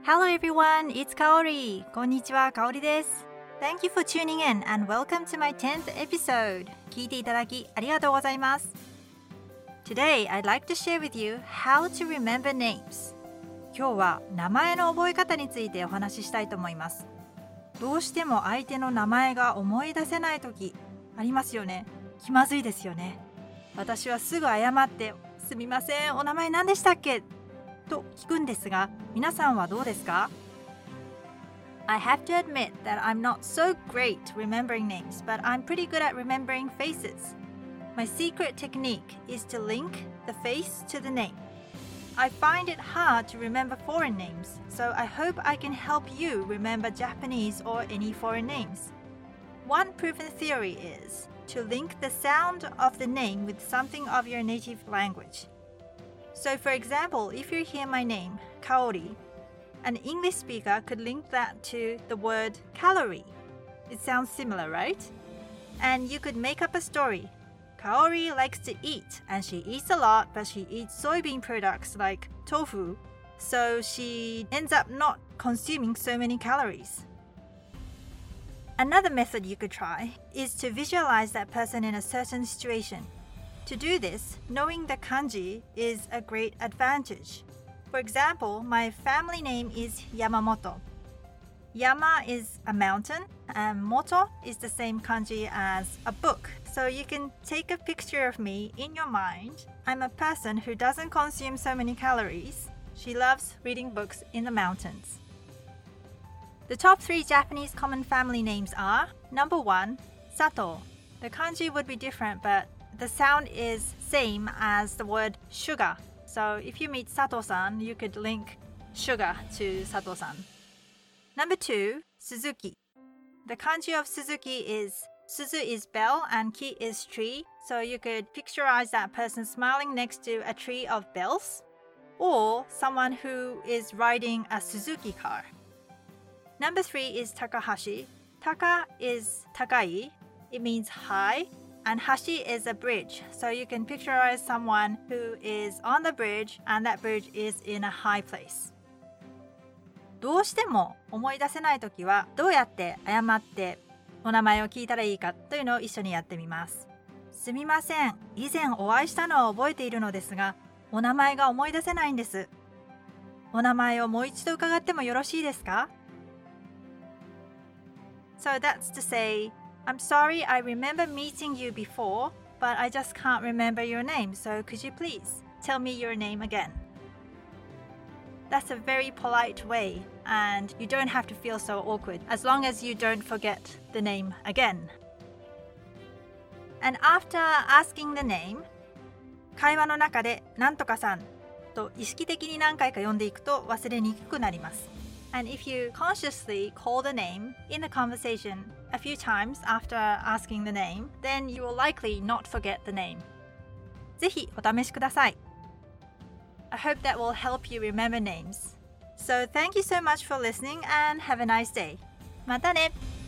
Hello everyone, it's Kaori. こんにちは、かおりです。Thank you for tuning in and welcome to my 10th episode. 聞いていただきありがとうございます。Today, I'd like to share with you how to remember names. 今日は名前の覚え方についてお話ししたいと思います。どうしても相手の名前が思い出せないときありますよね。気まずいですよね。私はすぐ謝って、すみません、お名前何でしたっけと聞くんですが、皆さんはどうですか？ I have to admit that I'm not so great remembering names, but I'm pretty good at remembering faces. My secret technique is to link the face to the name. I find it hard to remember foreign names, so I hope I can help you remember Japanese or any foreign names. One proven theory is to link the sound of the name with something of your native language.So, for example, if you hear my name, Kaori, an English speaker could link that to the word calorie. It sounds similar, right? And you could make up a story. Kaori likes to eat, and she eats a lot, but she eats soybean products like tofu, so she ends up not consuming so many calories. Another method you could try is to visualize that person in a certain situation.To do this, knowing the kanji is a great advantage. For example, my family name is Yamamoto. Yama is a mountain, and moto is the same kanji as a book. So you can take a picture of me in your mind. I'm a person who doesn't consume so many calories. She loves reading books in the mountains. The top 3 Japanese common family names are: Number 1, Sato. The kanji would be different, but the sound is same as the word sugar. So if you meet Sato-san, you could link sugar to Sato-san. Number 2, Suzuki. The kanji of Suzuki is Suzu is bell and Ki is tree. So you could picturize that person smiling next to a tree of bells, or someone who is riding a Suzuki car. Number 3 is Takahashi. Taka is takai. It means high.And hashi is a bridge, so you can picturize someone who is on the bridge and that bridge is in a high place. どうしても思い出せないときはどうやって謝ってお名前を聞いたらいいかというのを一緒にやってみます。すみません、以前お会いしたのは覚えているのですが、お名前が思い出せないんです。お名前をもう一度伺ってもよろしいですか？ So that's to say,I'm sorry, I remember meeting you before, but I just can't remember your name, so could you please tell me your name again? That's a very polite way, and you don't have to feel so awkward as long as you don't forget the name again. And after asking the name, 会話の中でなんとかさんと意識的に何回か呼んでいくと忘れにくくなります。And if you consciously call the name in the conversation a few times after asking the name, then you will likely not forget the name. ぜひお試しください。I hope that will help you remember names. So thank you so much for listening and have a nice day. またね。